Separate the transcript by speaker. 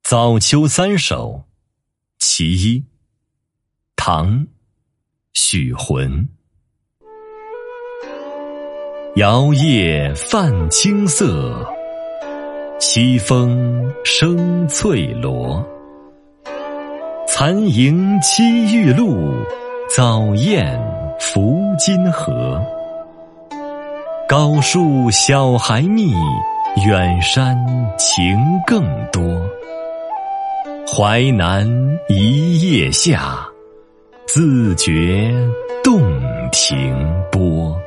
Speaker 1: 早秋三首其一，唐·许浑。摇曳泛青色，西风生翠萝。残萤栖玉露，早雁伏金河。高树小孩密，远山情更多。淮南一夜下，自觉洞庭波。